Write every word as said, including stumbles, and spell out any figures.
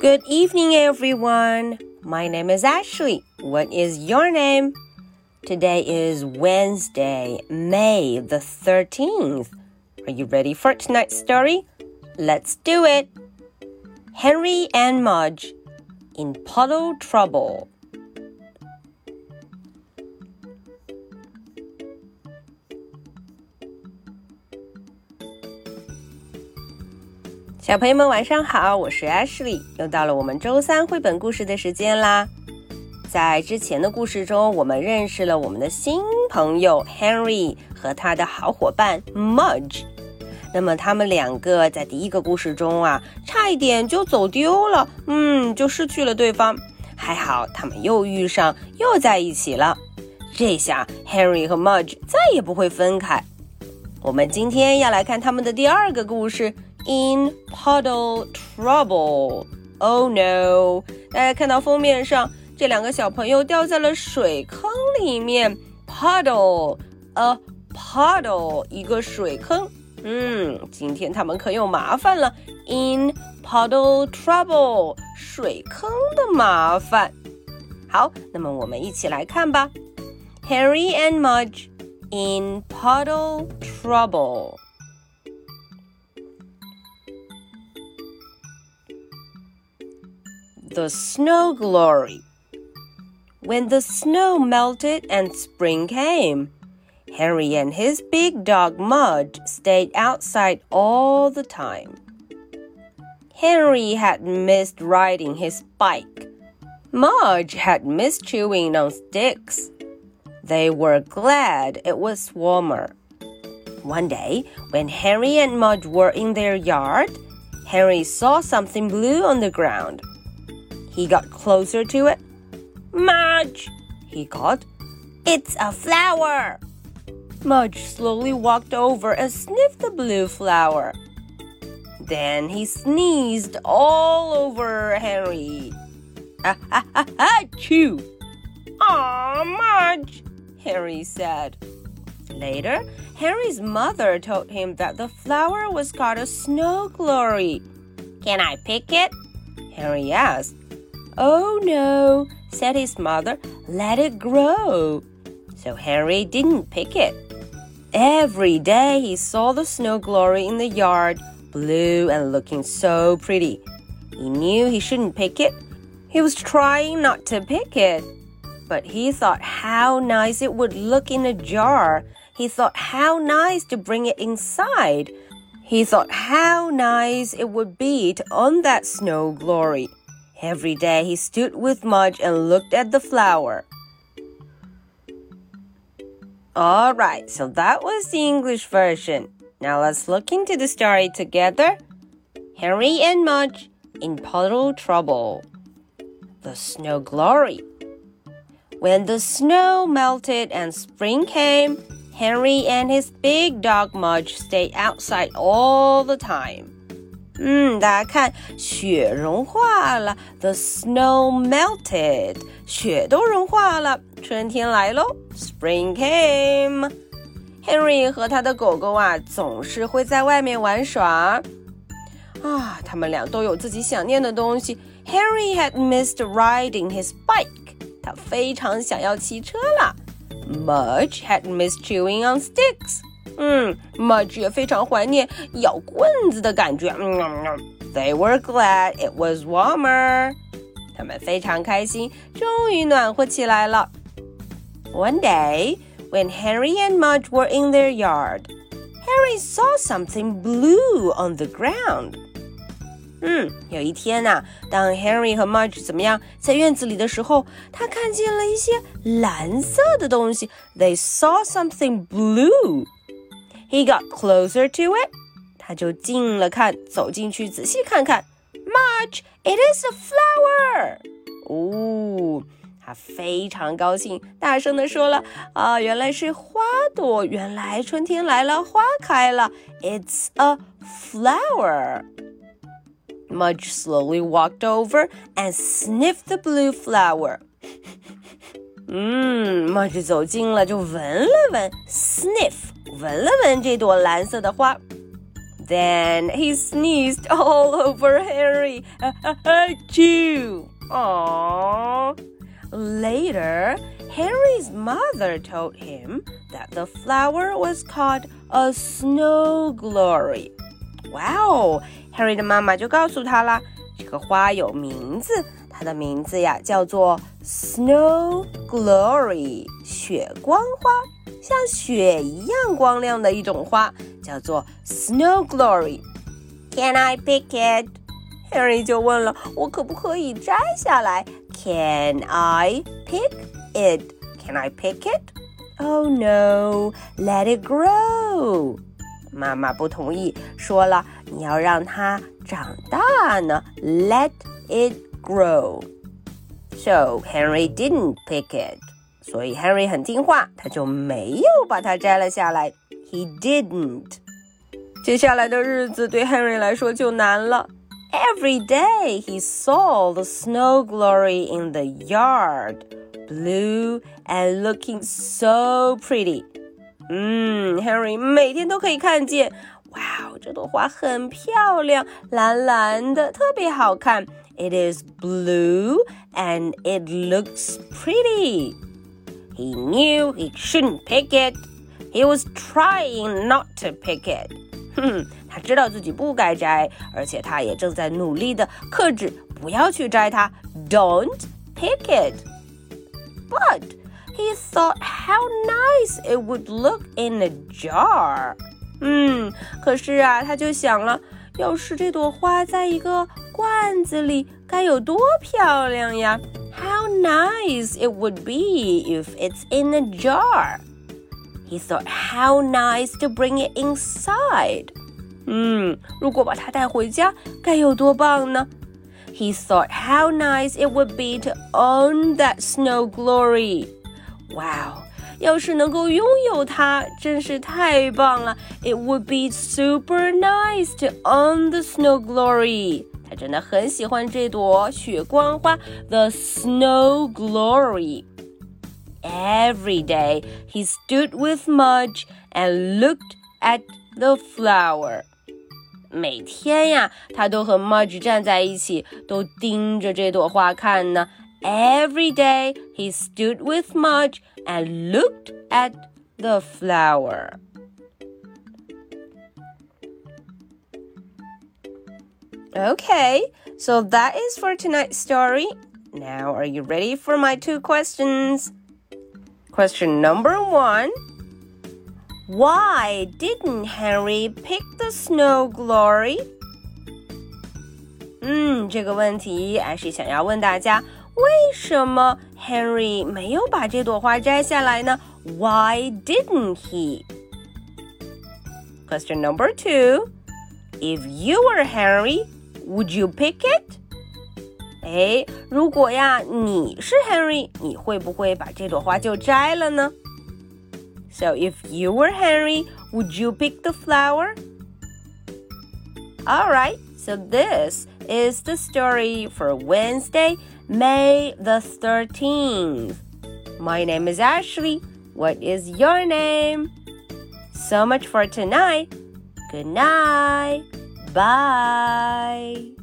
Good evening, everyone. My name is Ashley. What is your name? Today is Wednesday, May the thirteenth. Are you ready for tonight's story? Let's do it. Henry and Mudge in puddle trouble.小朋友们晚上好，我是 Ashley， 又到了我们周三绘本故事的时间啦。在之前的故事中，我们认识了我们的新朋友 Henry 和他的好伙伴 Mudge。那么他们两个在第一个故事中啊，差一点就走丢了，嗯，就失去了对方。还好他们又遇上，又在一起了。这下 Henry 和 Mudge 再也不会分开。我们今天要来看他们的第二个故事In puddle trouble. Oh no. 大家看到封面上，这两个小朋友掉在了水坑里面。Puddle, a puddle, 一个水坑。嗯，今天他们可有麻烦了。In puddle trouble, 水坑的麻烦。好，那么我们一起来看吧。Henry and Mudge in puddle trouble.The snow glory. When the snow melted and spring came, Henry and his big dog Mudge stayed outside all the time. Henry had missed riding his bike. Mudge had missed chewing on sticks. They were glad it was warmer. One day, when Henry and Mudge were in their yard, Henry saw something blue on the ground.He got closer to it. Mudge, he called. It's a flower. Mudge slowly walked over and sniffed the blue flower. Then he sneezed all over Henry. Ah, ah, ah, ah, achoo! Aw, Mudge, Henry said. Later, Henry's mother told him that the flower was called a snow glory. Can I pick it? Henry asked.Oh, no, said his mother. Let it grow. So Henry didn't pick it. Every day he saw the snow glory in the yard, blue and looking so pretty. He knew he shouldn't pick it. He was trying not to pick it. But he thought how nice it would look in a jar. He thought how nice to bring it inside. He thought how nice it would be to own that snow glory.Every day he stood with Mudge and looked at the flower. All right, so that was the English version. Now let's look into the story together. Henry and Mudge in puddle trouble. The snow glory. When the snow melted and spring came, Henry and his big dog Mudge stayed outside all the time.嗯，大家看，雪融化了 ，the snow melted， 雪都融化了，春天来喽 ，spring came。Henry 和他的狗狗啊，总是会在外面玩耍。啊，他们俩都有自己想念的东西。Henry had missed riding his bike， 他非常想要骑车啦。Mudge had missed chewing on sticks。嗯 Mudge 也非常怀念咬棍子的感觉。嗯嗯嗯 They were glad it was warmer. 他们非常开心，终于暖和起来了。One day, when Henry and Mudge were in their yard, Henry saw something blue on the ground. 嗯，有一天啊，当 Henry 和 Mudge 怎么样，在院子里的时候，他看见了一些蓝色的东西。They saw something blue.He got closer to it. 他就近了看，走进去仔细看看。Mudge, it is a flower. 哦，他非常高兴，大声地说了：啊，原来是花朵，原来春天来了，花开了。It's a flower. Mudge slowly walked over and sniffed the blue flower. 嗯 Mudge 走近了，就闻了闻 ，sniff， 闻了闻这朵蓝色的花。 Then he sneezed all over Henry. Achoo! Aww. Later, Henry's mother told him that the flower was called a snow glory. Wow! Henry 的妈妈就告诉他啦，这个花有名字，它的名字呀叫做 Snow Glory， 雪光花，像雪一样光亮的一种花，叫做 Snow Glory. Can I pick it? Henry 就问了，我可不可以摘下来？ Can I pick it? Can I pick it? Oh no, let it grow. 妈妈不同意，说了你要让它长大呢 Let it grow. So Henry didn't pick it. 所以 Henry 很听话，他就没有把它摘了下来 He didn't. 接下来的日子对 Henry 来说就难了。Every day he saw the snow glory in the yard, blue and looking so pretty. 嗯 Henry 每天都可以看见，哇，这朵花很漂亮，蓝蓝的，特别好看。It is blue and it looks pretty. He knew he shouldn't pick it. He was trying not to pick it. 哼，他知道自己不该摘，而且他也正在努力地克制，不要去摘它。Don't pick it. But he thought how nice it would look in a jar. 嗯，可是啊，他就想了，要是这朵花在一个罐子里，该有多漂亮呀 How nice it would be if it's in a jar. He thought how nice to bring it inside. 嗯，如果把它带回家，该有多棒呢 He thought how nice it would be to own that snow glory. Wow, 要是能够拥有它，真是太棒了 It would be super nice to own the snow glory. 他真的很喜欢这朵雪光花 The snow glory.Every day, he stood with Mudge and looked at the flower. 每天呀，他都和 Mudge 站在一起，都盯着这朵花看呢。Every day, he stood with Mudge and looked at the flower. Okay, so that is for tonight's story. Now, are you ready for my two questions?Question number one, why didn't Henry pick the snow glory? 嗯，这个问题还是想要问大家，为什么 Henry 没有把这朵花摘下来呢 Why didn't he? Question number two, if you were Henry, would you pick it?诶，如果呀你是 Henry， 你会不会把这朵花就摘了呢 So if you were Henry, would you pick the flower? Alright, so this is the story for Wednesday, May the thirteenth. My name is Ashley. What is your name? So much for tonight. Good night. Bye.